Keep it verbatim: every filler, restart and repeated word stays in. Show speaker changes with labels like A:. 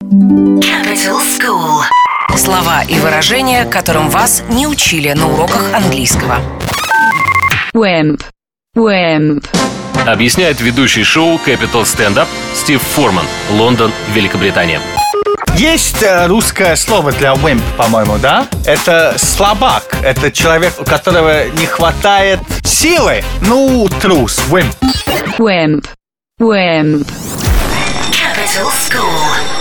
A: Capital School. Слова и выражения, которым вас не учили на уроках английского.
B: Wimp. Wimp.
C: Объясняет ведущий шоу Capital Stand-Up Стив Форман, Лондон, Великобритания.
D: Есть э, русское слово для wimp, по-моему, да? Это слабак. Это человек, у которого не хватает силы. Ну, трус, wimp.
B: Wimp. Wimp.
A: Capital School.